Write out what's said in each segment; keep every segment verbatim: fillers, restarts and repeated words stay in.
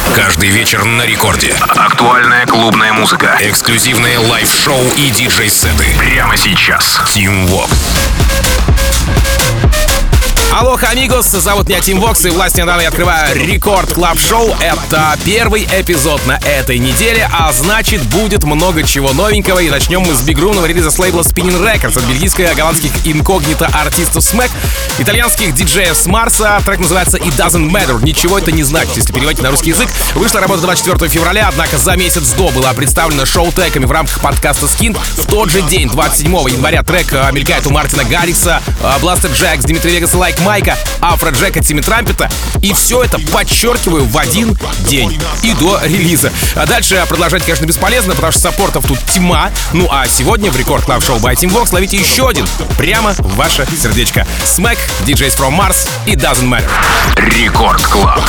Каждый вечер на рекорде. Актуальная клубная музыка. Эксклюзивные лайв-шоу и диджей-сеты. Прямо сейчас. Team Vox. Алоха, амигос, зовут меня Тим Вокс, и властью недавно я открываю Рекорд Клаб Шоу. Это первый эпизод на этой неделе, а значит, будет много чего новенького. И начнем мы с бигрумного релиза с лейбла Spinning Records от бельгийско-голландских инкогнито артистов Smack, итальянских диджеев с Марса. Трек называется It Doesn't Matter. Ничего это не значит, если переводить на русский язык. Вышла работа двадцать четвёртого февраля, однако за месяц до была представлена шоу-треками в рамках подкаста Skint. В тот же день, двадцать седьмого января, трек мелькает у Мартина Гаррикса, Бластер Джекс, Дмитрия Вегаса, Лайк Майка, Афро Джека, Тимми Трампета. И все это, подчеркиваю, в один день и до релиза. А дальше продолжать, конечно, бесполезно, потому что саппортов тут тьма. Ну а сегодня в Рекорд Клаб Шоу by Team Vox ловите еще один прямо в ваше сердечко. Smack, ди джейс from Mars, It Doesn't Matter. Рекорд Клаб.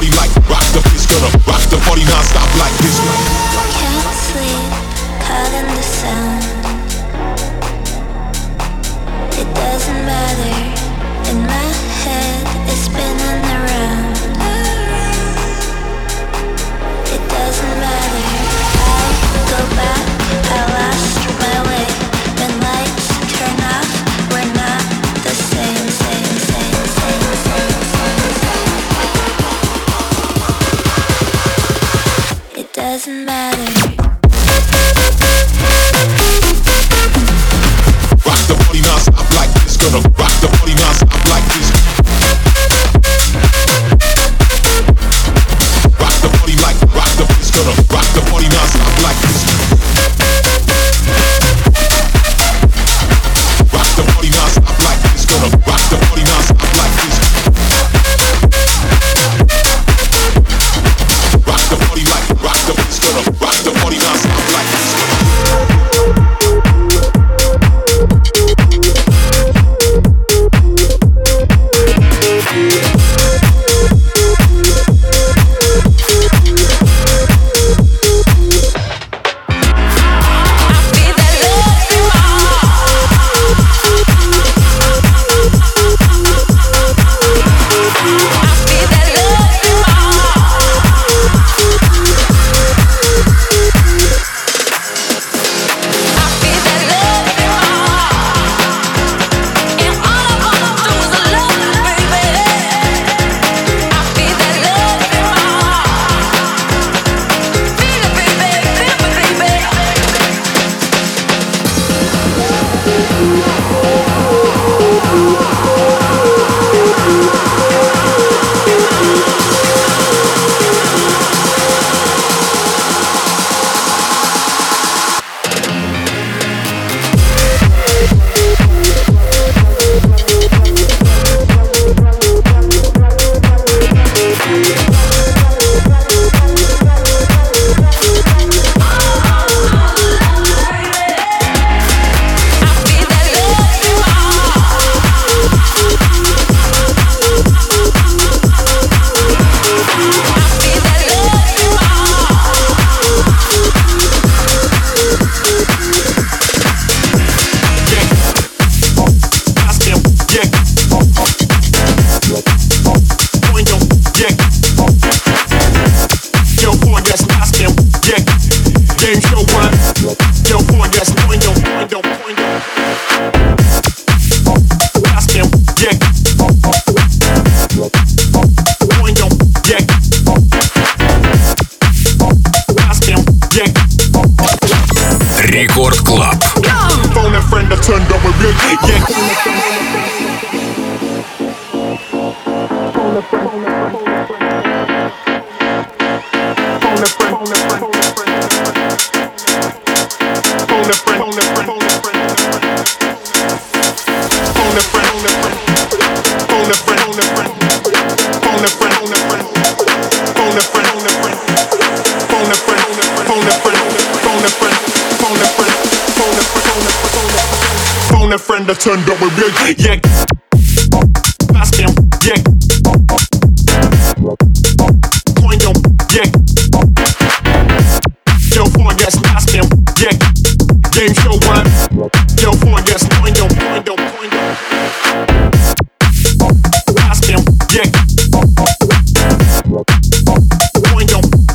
In my head, it's spinning around. It doesn't matter. I go back, I lost my way. When lights turn off, we're not the same, same, same, same, same, same, same. It doesn't matter. Rock the body non-stop like this, gonna rock the body non-stop like this. Rock the body like, rock the bass, gonna rock the body non-stop like this. Rock the body non-stop like this, gonna rock the body non-stop like this. Rock the body like, rock the bass, gonna rock the body non-stop like this. Рекорд Клаб. Phone a friend that turned up with real yeah. Friend that turned up with real yeah. Ask him, yeah. Coin him, yeah. Yo, phone, yes, ask him, yeah. Game show one. Yo, phone, yes, coin him, coin him, coin him. Ask him, yeah. Coin him.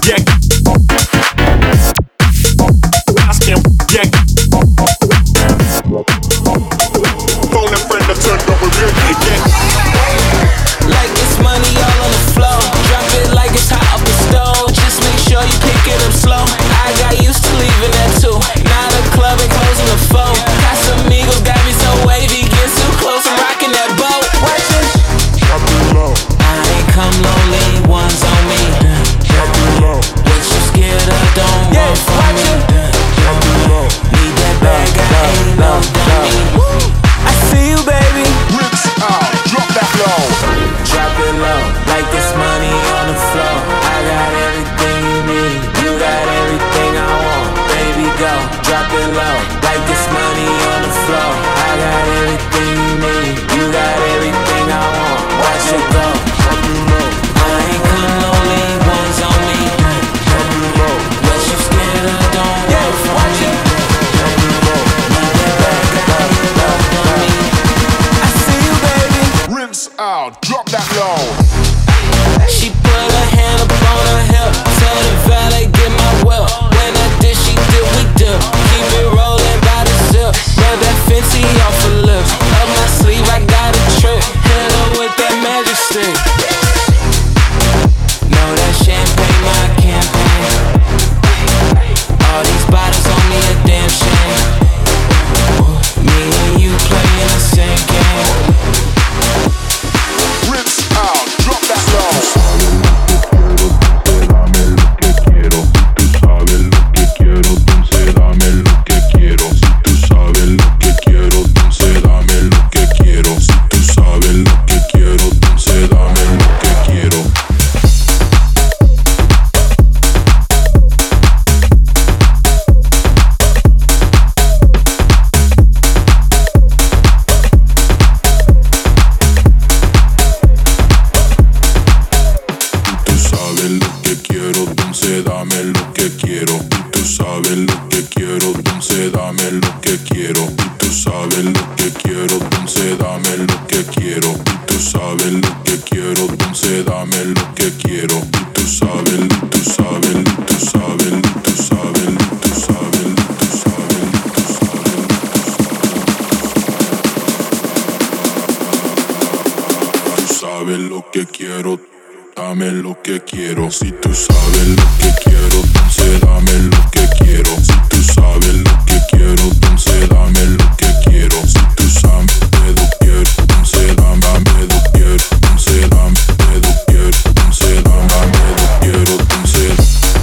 que quiero. Si tú sabes lo que quiero, entonces dame lo que quiero. Si tú sabes lo que quiero, entonces dame lo que quiero. Si tú sabes lo que quiero, entonces dame lo que quiero. Entonces dame lo que quiero, entonces dame lo que quiero, entonces.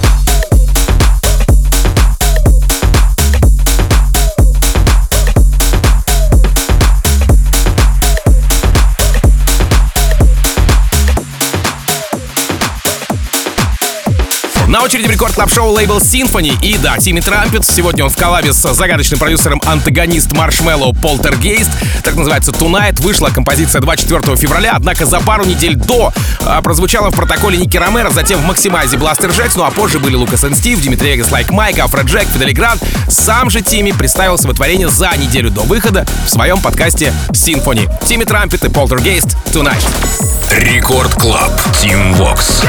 На очереди в Рекорд Клаб Шоу лейбл Symphony. И да, Тимми Трампет. Сегодня он в коллабе с загадочным продюсером антагонист Marshmello Poltergeist. Так называется Tonight. Вышла композиция двадцать четвёртого февраля. Однако за пару недель до а, прозвучала в протоколе Ники Ромеро, затем в Максимайзе Бластер Джекс. Ну а позже были Лукас энд Стив, Димитри Вегас, Лайк Майк, Афро Джек, Фидели Грант. Сам же Тимми представил свое творение за неделю до выхода в своем подкасте Symphony. Тимми Трампет и Poltergeist Tonight. Рекорд Клаб. Team Vox.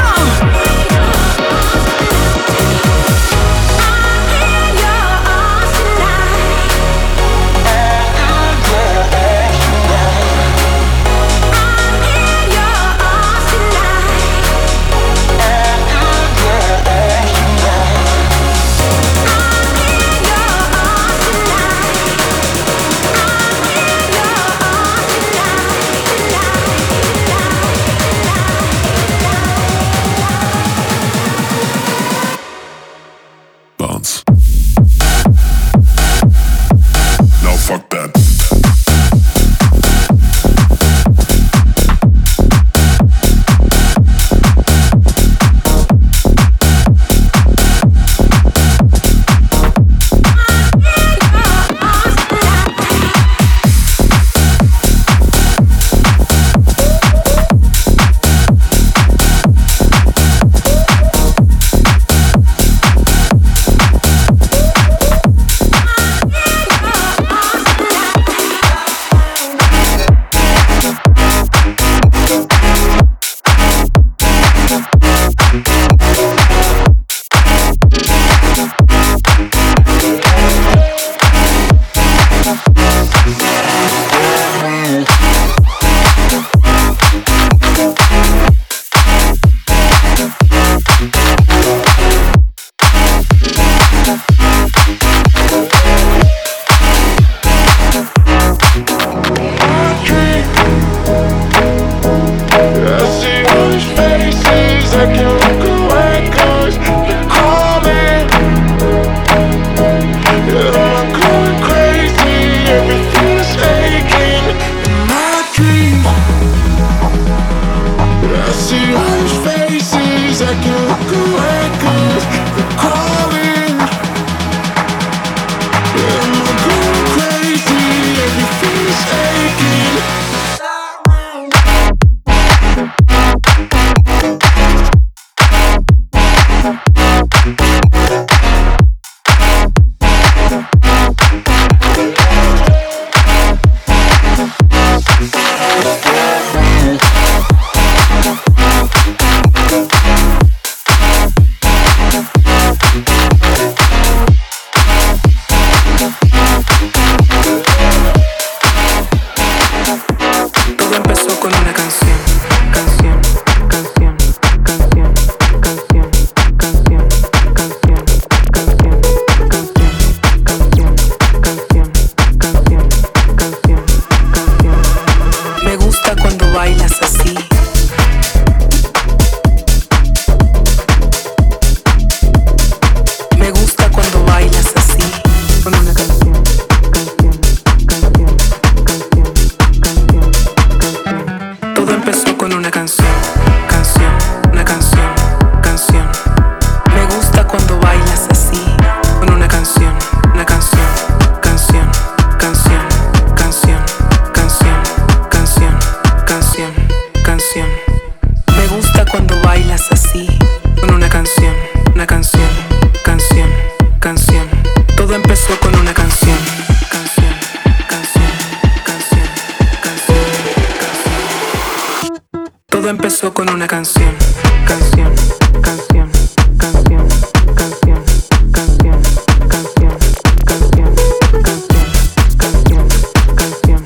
Todo empezó con una canción, canción, canción, canción, canción, canción, canción, canción, canción, canción, canción,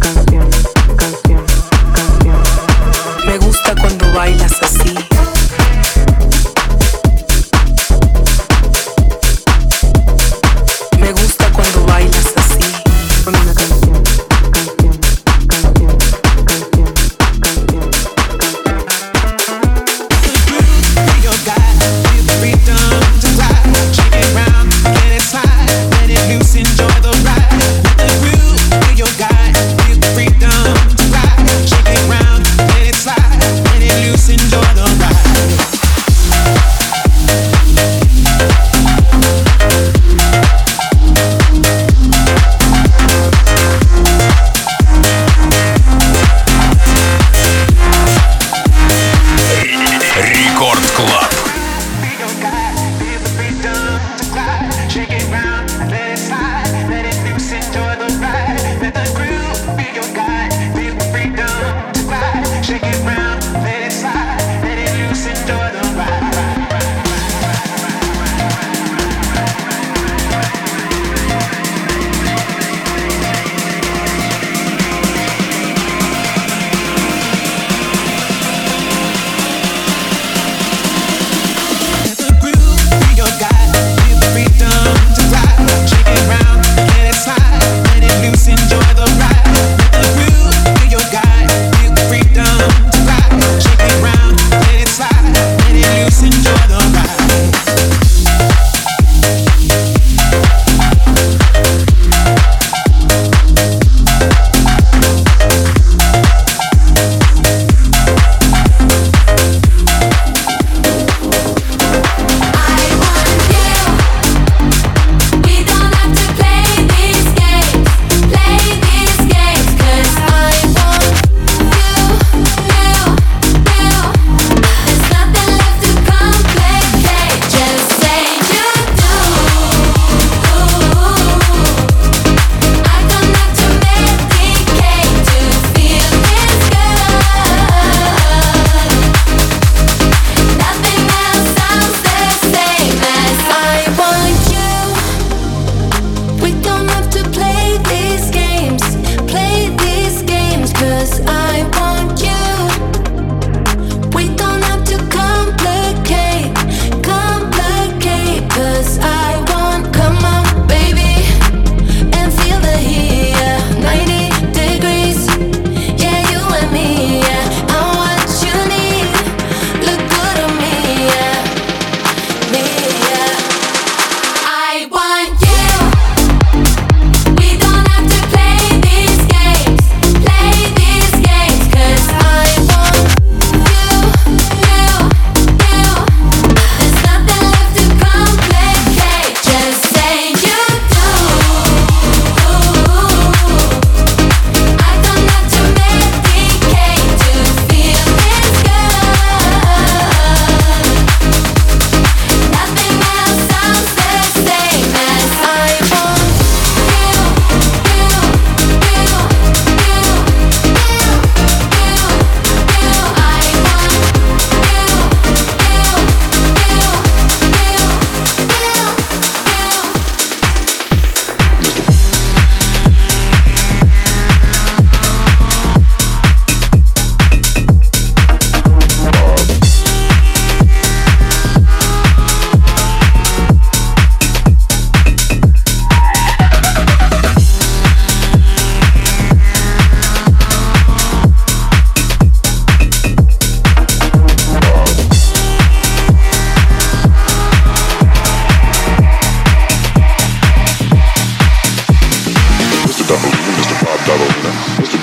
canción, canción, canción. Me gusta cuando bailas así,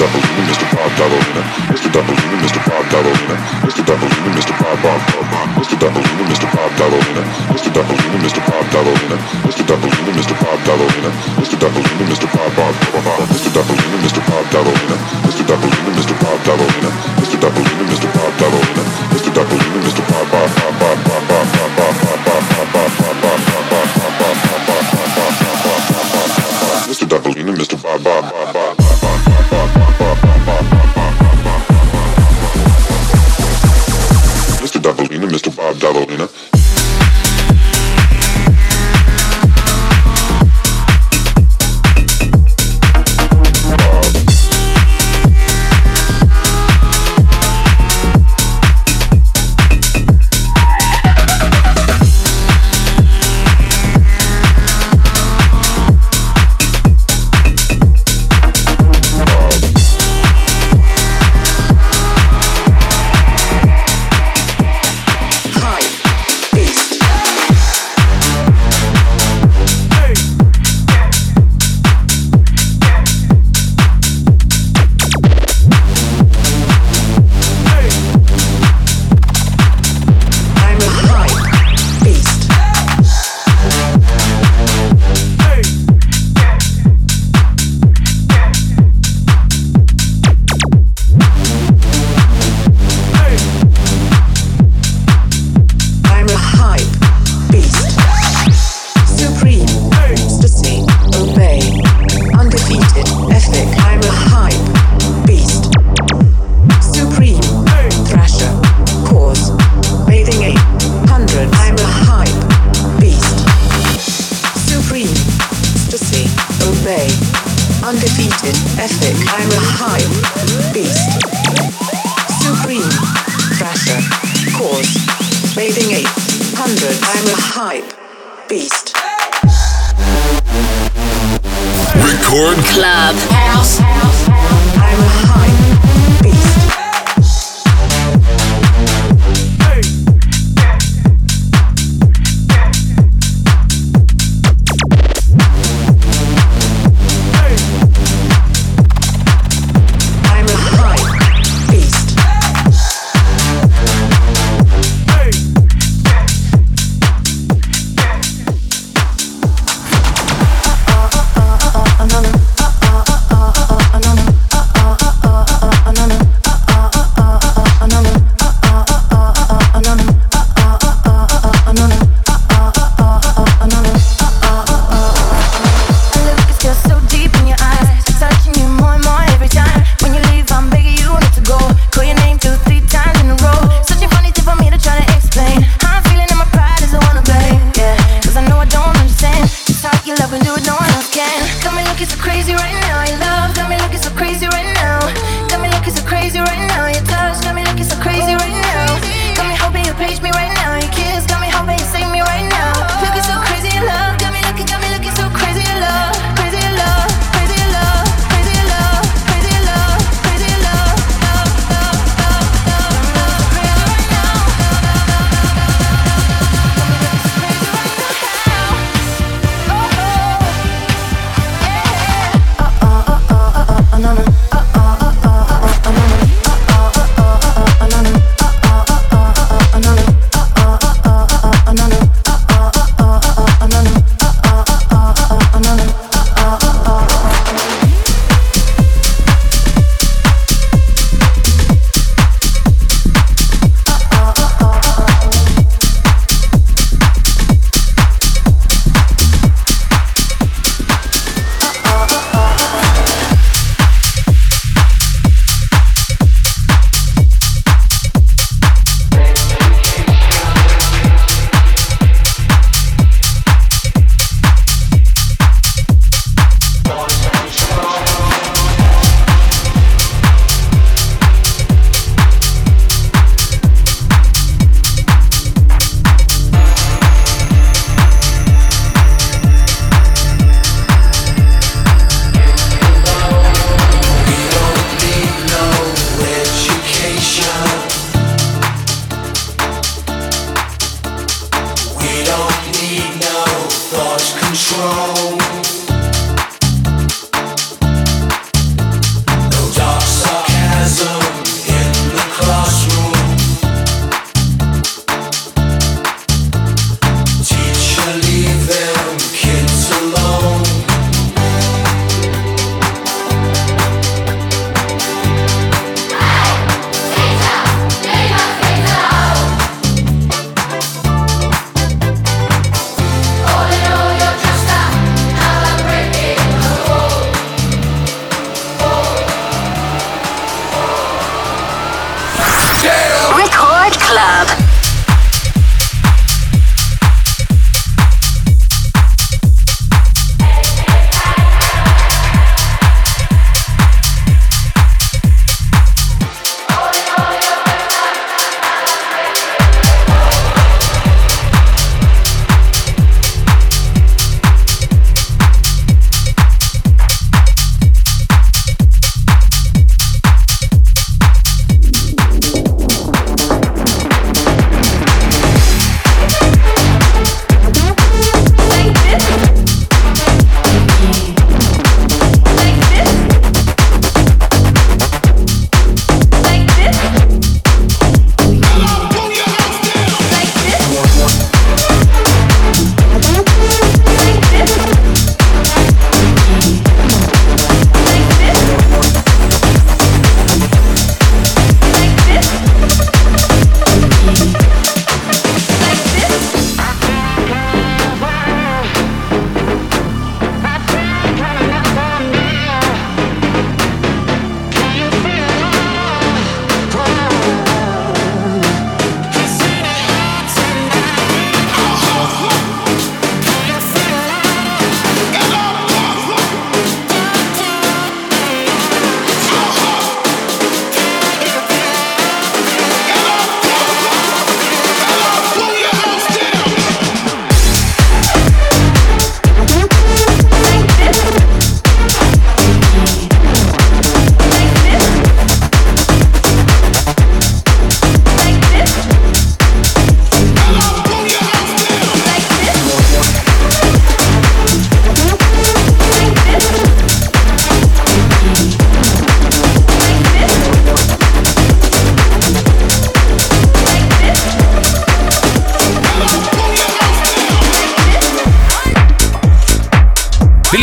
control. No dark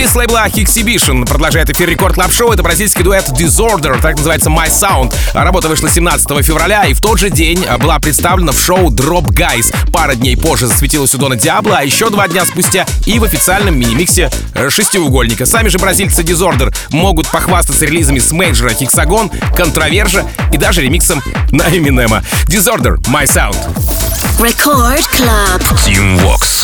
с лейбла Hexhibition продолжает эфир Рекорд Клаб Шоу. Это бразильский дуэт Disorder, так называется My Sound. Работа вышла семнадцатого февраля, и в тот же день была представлена в шоу Drop Guys. Пара дней позже засветилась у Дона Диабло, а еще два дня спустя и в официальном мини-миксе шестиугольника. Сами же бразильцы Disorder могут похвастаться релизами с мейджора Hexagon, Контровержа и даже ремиксом на Эминема. Disorder, My Sound. Record Club. Team Vox.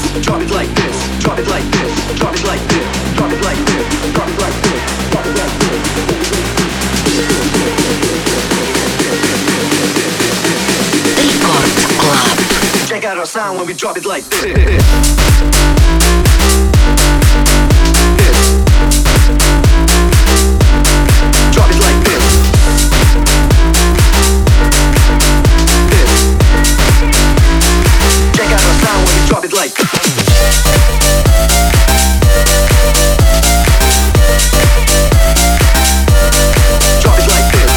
drop it like this, drop it like this, drop it like this, drop it like this, drop it like this, drop it like this. Record Club. Check out our sound when we drop it like this. Drop it like this. This. Check out our sound when we drop it like this. Drop it like this.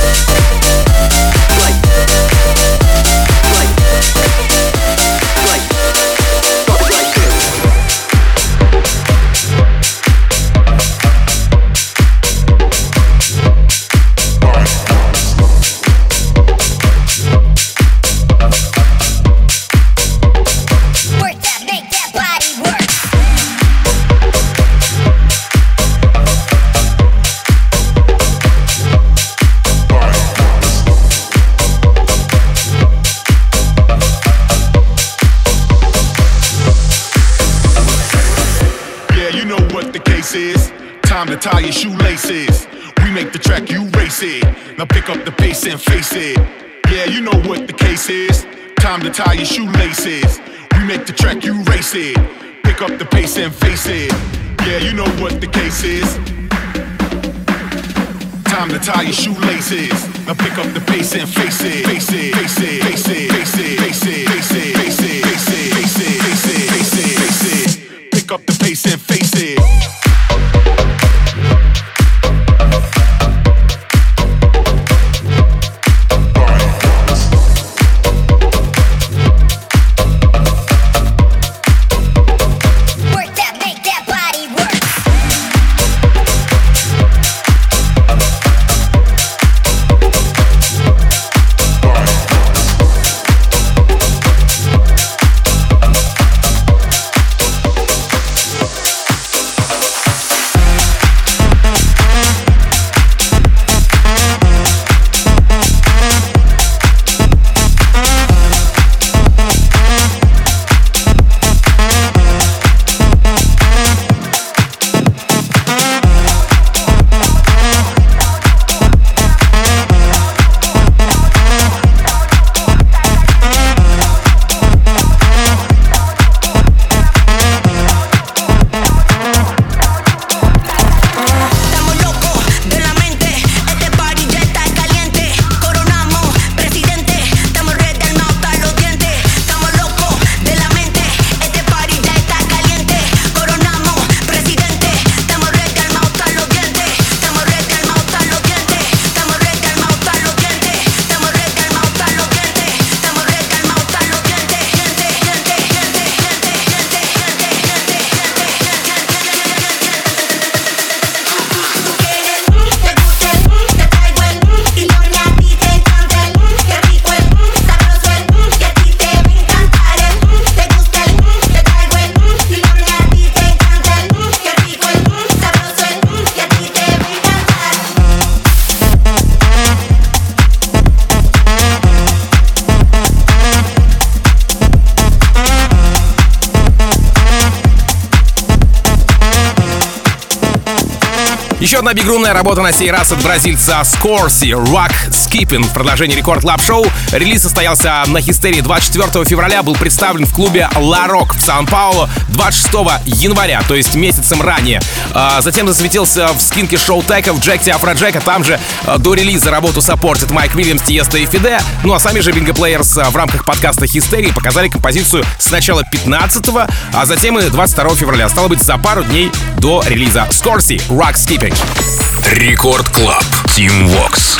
Like. Like. Like. Drop it like this. Work that, make that body work. Yeah, you know what the case is. Time to tie your shoelaces. We make the track, you race it. Now pick up the pace and face it. Yeah, you know what the case is. Time to tie your shoelaces. We make the track, you race it. Pick up the pace and face it. Yeah, you know what the case is. Time to tie your shoelaces. Now pick up the pace and face it. Face it, face it, face it, face it, face it, face it, face it, face it, face it, face it, face it, face it. Pick up the pace and face it. Work that, make that body work. Estamos locos de la mente, este party ya está caliente. Coronamos, presidente, estamos ready al mouth a los dientes. Estamos locos de la mente, este party ya está caliente. Coronamos, presidente, estamos ready al mouth a los dientes. Estamos ready al mouth a los dientes. Estamos ready al mouth a los dientes. Estamos ready al mouth a los dientes. Estamos ready al mouth a los dientes. Gente, gente, gente, gente, gente, gente, gente, te gusta el, te traigo el, y no ni a ti te encanta el, qué rico el, sabroso el, que a ti te va a encantar el, te gusta el, te traigo el, y no ni a ti te encanta el, qué rico el, sabroso el, que a ti te va a encantar. Еще одна бигрумная работа на сей раз от бразильца Скорси, Rock Skipping. В продолжении Рекорд Клаб Шоу. Релиз состоялся на Хистерии двадцать четвёртого февраля, был представлен в клубе La Rock в Сан-Паулу двадцать шестого января, то есть месяцем ранее. А затем засветился в скинке шоу Теков Джекти Афроджека. Там же а, до релиза работу саппортит Майк Уильямс, Тиеста и Фиде. Ну а сами же Bingo Players а, в рамках подкаста Хистерии показали композицию сначала пятнадцатого, а затем и двадцать второго февраля. Стало быть, за пару дней до релиза. Скорси, Rock Skipping. Рекорд Клаб. Team Vox.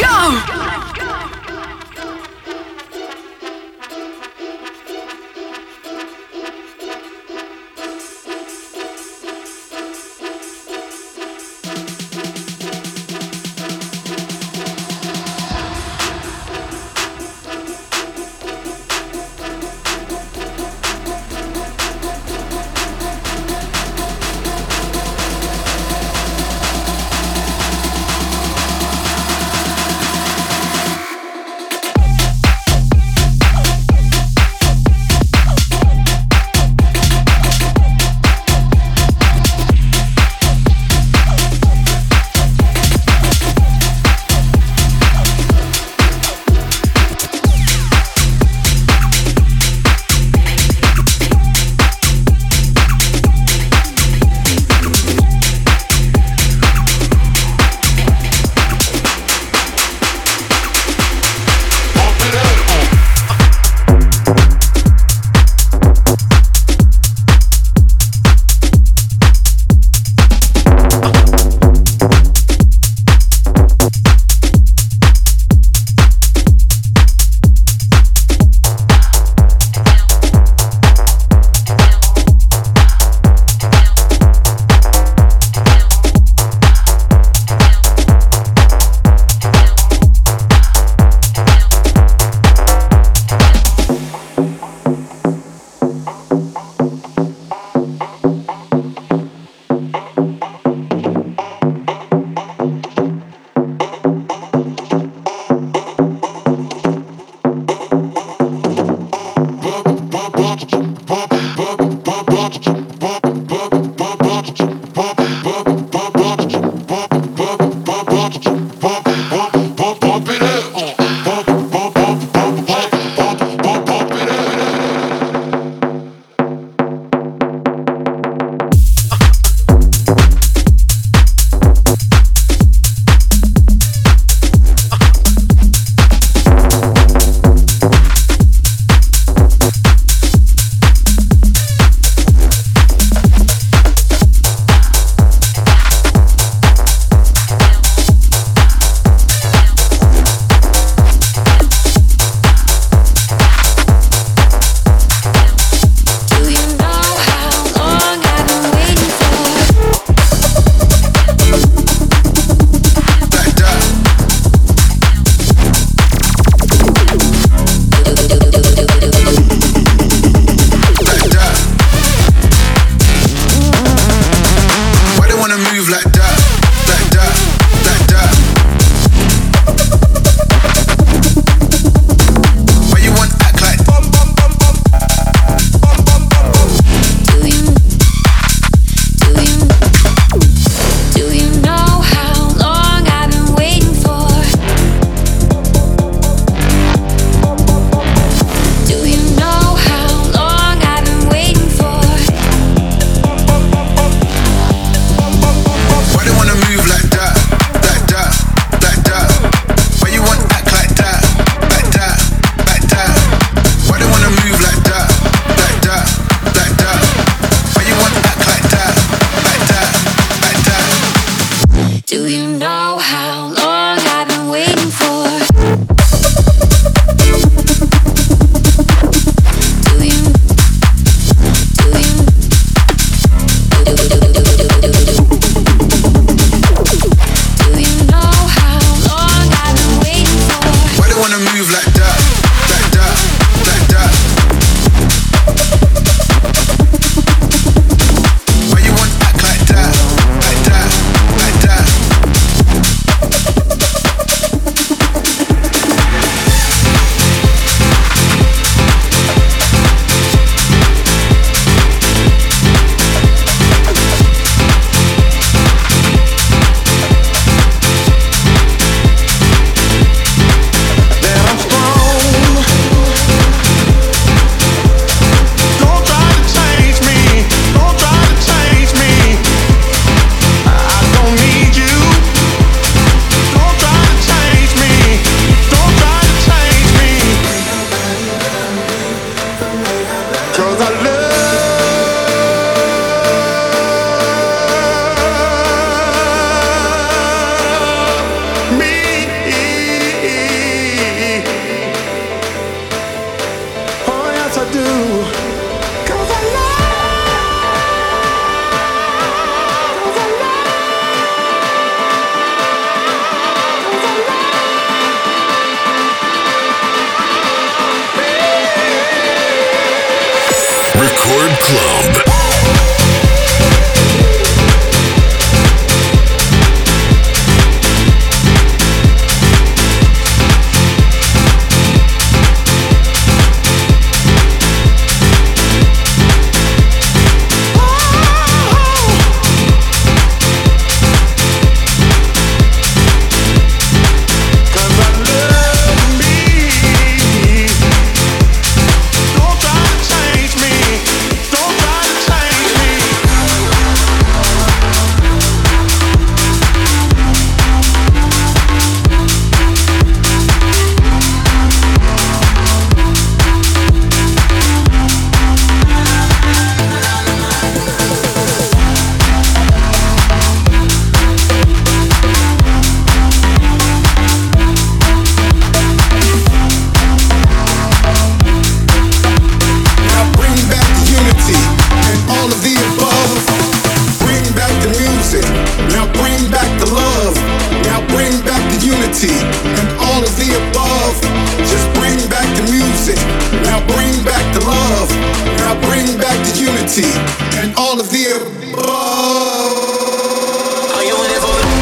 unity, and all of the above. Are you in it for the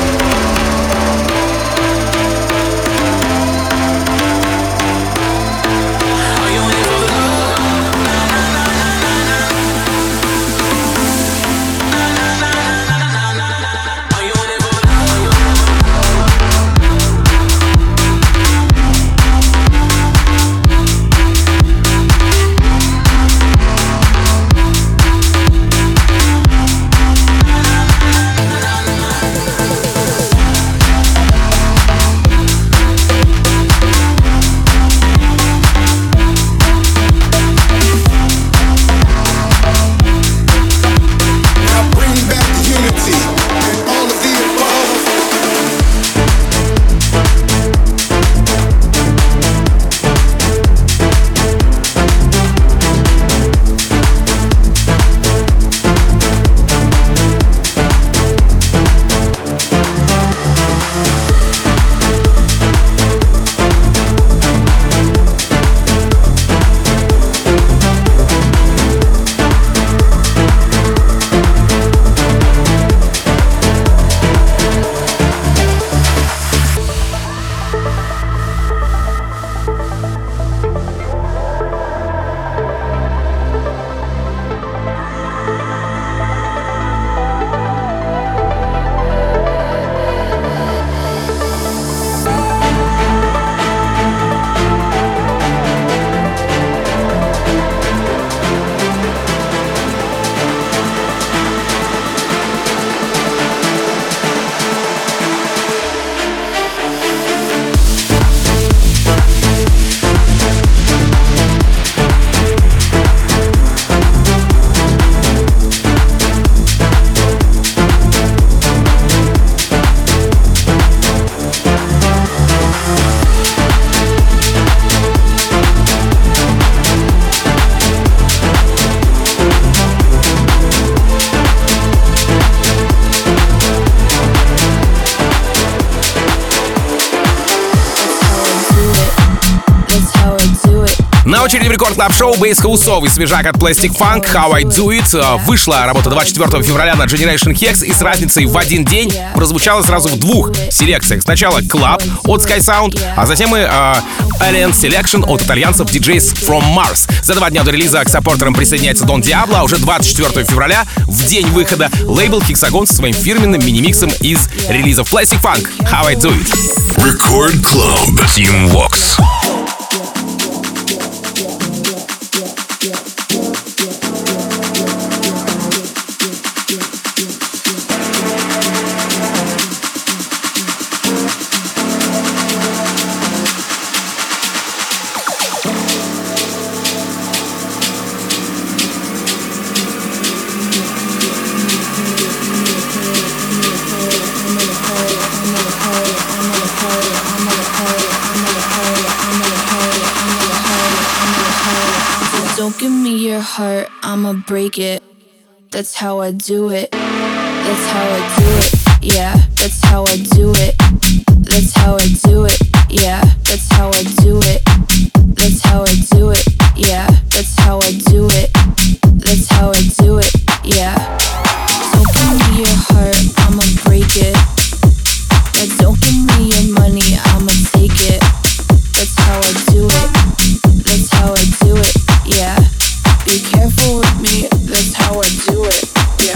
На очереди в Рекорд Клаб Шоу бейс-хаусовый свежак от Plastic Funk «How I Do It». Вышла работа двадцать четвёртого февраля на Generation Hex и с разницей в один день прозвучала сразу в двух селекциях. Сначала Club от Sky Sound, а затем и э, Alien Selection от итальянцев ди джейс from Mars. За два дня до релиза к саппортерам присоединяется Don Diablo, а уже двадцать четвёртого февраля, в день выхода, лейбл Hexagon со своим фирменным мини-миксом из релизов Plastic Funk «How I Do It». Record Club Team Vox. Don't give me your heart, I'ma break it. That's how I do it. That's how I do it. Yeah, that's how I do it. That's how I do it. Yeah, that's how I do it. That's how I do it. Yeah, that's how I do it. That's how I do it. Yeah. Don't give me your heart, I'ma break it. Yeah, don't give me your money, I'ma take it. That's how I do it. That's how I do it. Yeah, be careful with me, that's how I do it. Yeah.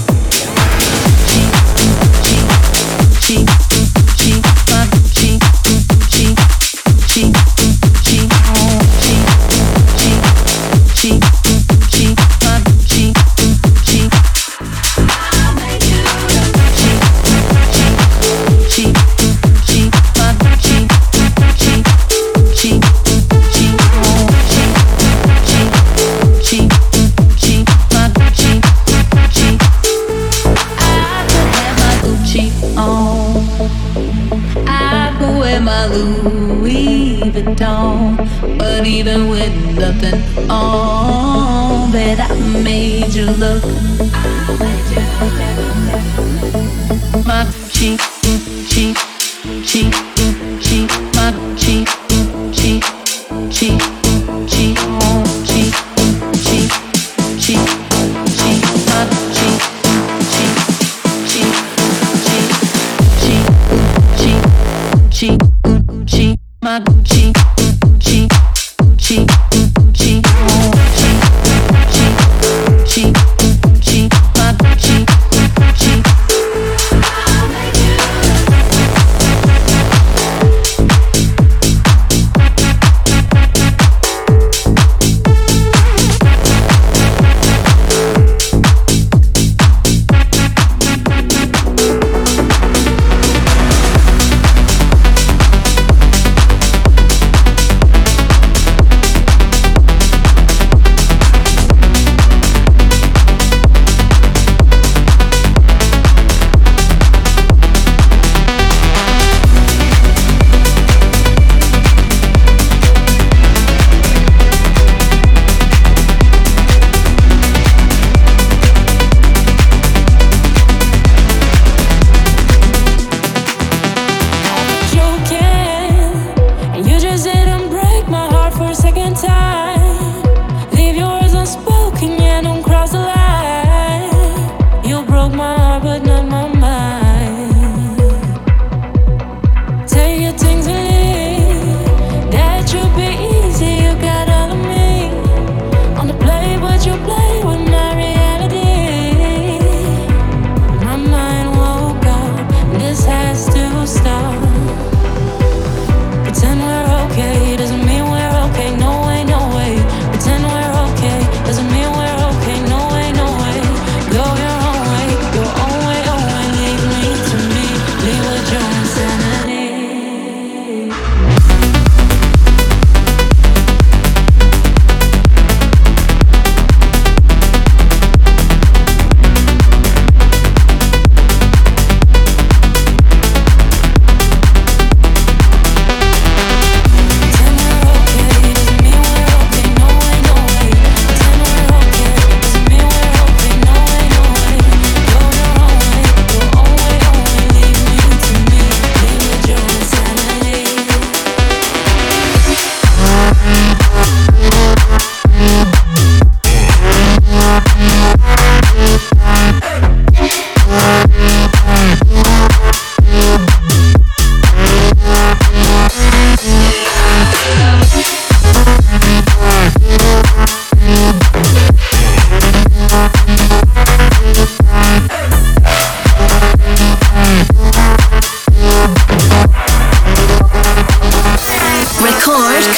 G, G, G, my G, G, G, G, G, G, G, my G, G. G, G, my G, G, G, G, G, G, my G, G. I could have my Gucci on. I could wear my Louis Vuitton. But even with nothing on, bet I made you look. My G, G, G, G, my G, G, G, G, G, G, G.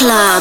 Club.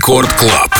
Рекорд Клаб.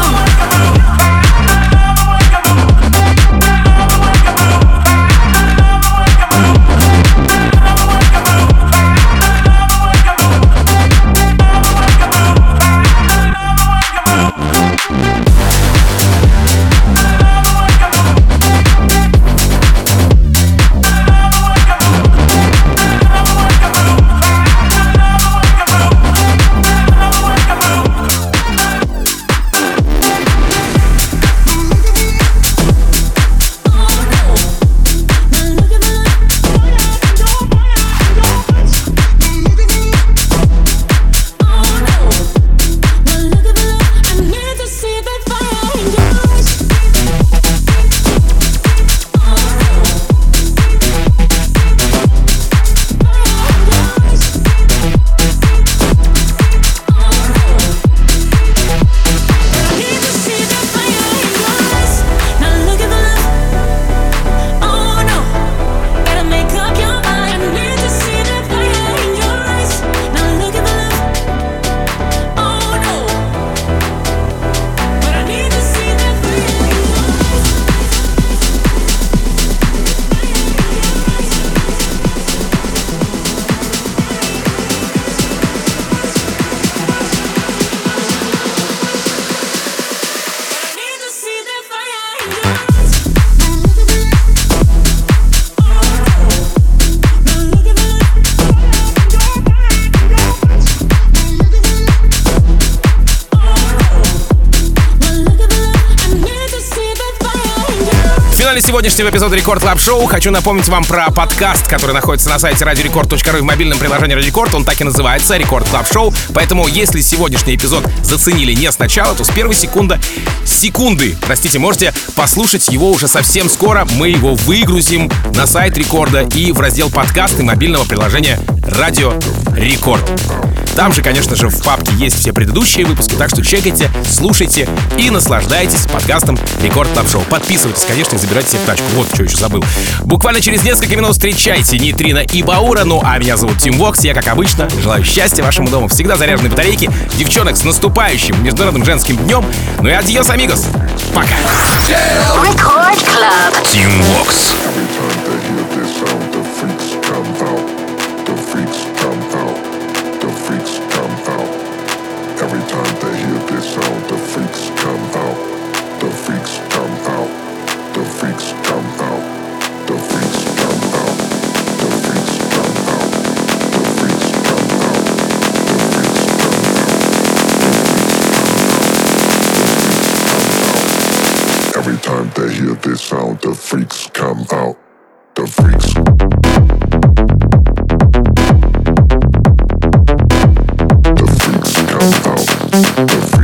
Сегодняшнего эпизода Рекорд Клаб Шоу хочу напомнить вам про подкаст, который находится на сайте радио рекорд точка ру и в мобильном приложении Радио Рекорд. Он так и называется — Рекорд Клаб Шоу. Поэтому, если сегодняшний эпизод заценили не сначала, то с первой секунды, секунды, простите, можете послушать его уже совсем скоро. Мы его выгрузим на сайт Рекорда и в раздел подкасты мобильного приложения Радио Рекорд. Там же, конечно же, в папке есть все предыдущие выпуски, так что чекайте, слушайте и наслаждайтесь подкастом Рекорд Клаб Шоу. Подписывайтесь, конечно, и забирайте себе в тачку. Вот, что еще забыл. Буквально через несколько минут встречайте Нейтрино и Баура. Ну, а меня зовут Тим Вокс. Я, как обычно, желаю счастья вашему дому, всегда заряженные батарейки. Девчонок, с наступающим Международным женским днем. Ну и адьос, амигос. Пока. Рекорд Клаб. Тим Вокс. Every time they hear this sound, the freaks come out. The freaks come out. The freaks come out. The freaks come out. The freaks come out. The freaks come out. The freaks come out. Every time they hear this sound, the freaks come out. The freaks. The freaks come out. The freaks